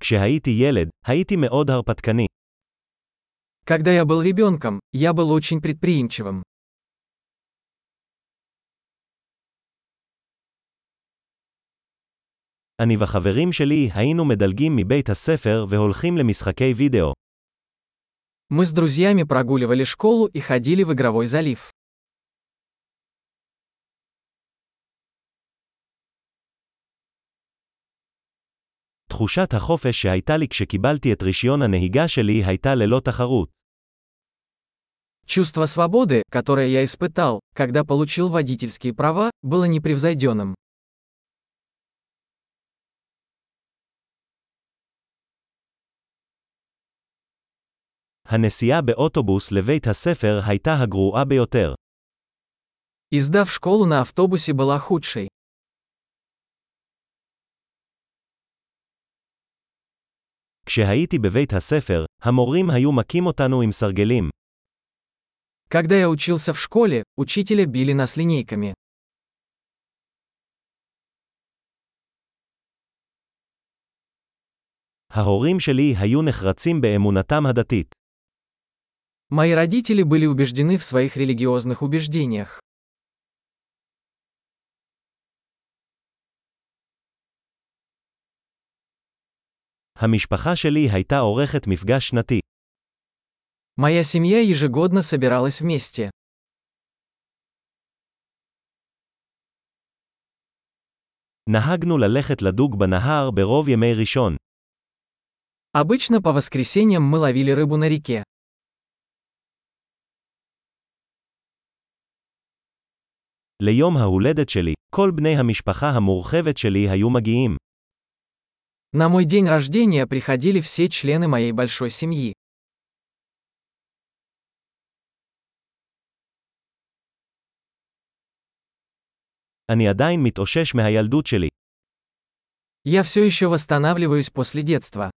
כשהייתי ילד, הייתי מאוד הרפתקני. Когда я был ребенком, я был очень предприимчивым. אני וחברים שלי היינו מדלגים מבית הספר והולכים למשחקי וידאו. Мы с друзьями прогуливали школу и ходили в игровой залив. תחושת החופש שהייתה לי כשקיבלתי את רישיון הנהיגה שלי הייתה ללא תחרות. Чувство свободы, которое я испытал, когда получил водительские права, было непревзойденным. הנסיעה באוטובוס לבית הספר הייתה הגרועה ביותר. Езда в школу на автобусе была худшей. כשהייתי בבית הספר, המורים היו מכים אותנו עם סרגלים. Когда я учился в школе, учителя били нас линейками. ההורים שלי היו נחרצים באמונתם הדתית. Мои родители были убеждены в своих религиозных убеждениях. המשפחה שלי הייתה עורכת מפגש שנתי. Моя семья ежегодно собиралась вместе. נהגנו ללכת לדוג בנהר ברוב ימי ראשון. Обычно по воскресеньям мы ловили рыбу на реке. ליום ההולדת שלי, כל בני המשפחה המורחבת שלי היו מגיעים. На мой день рождения приходили все члены моей большой семьи. אני עדיין מתאושש מהילדות שלי. Я все еще восстанавливаюсь после детства.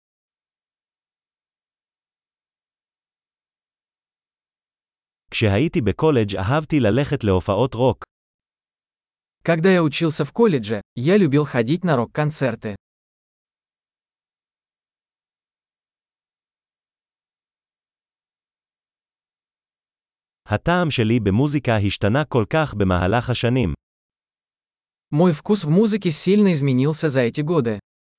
כשהייתי בקולג' אהבתי ללכת להופעות רוק. Когда я учился в колледже, я любил ходить на рок-концерты. הטעם שלי במוזיקה השתנה כל כך במהלך השנים. Мой вкус в музыке сильно изменился за эти годы.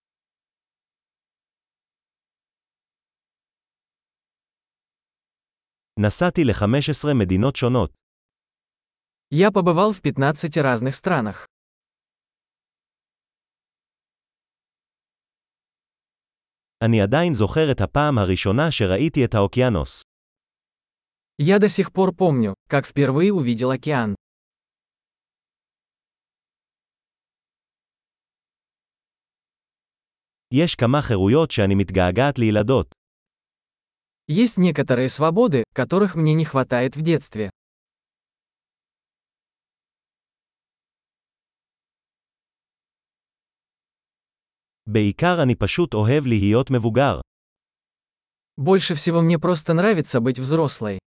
נסעתי ל-15 מדינות שונות. Я побывал в 15 разных странах. אני עדיין זוכר את הפעם הראשונה שראיתי את האוקיינוס. Я до сих пор помню, как впервые увидел океан. יש כמה חירויות שאני מתגעגעת לילדות. Есть некоторые свободы, которых мне не хватает в детстве. בעיקר אני פשוט אוהב להיות מבוגר. Больше всего мне просто нравится быть взрослой.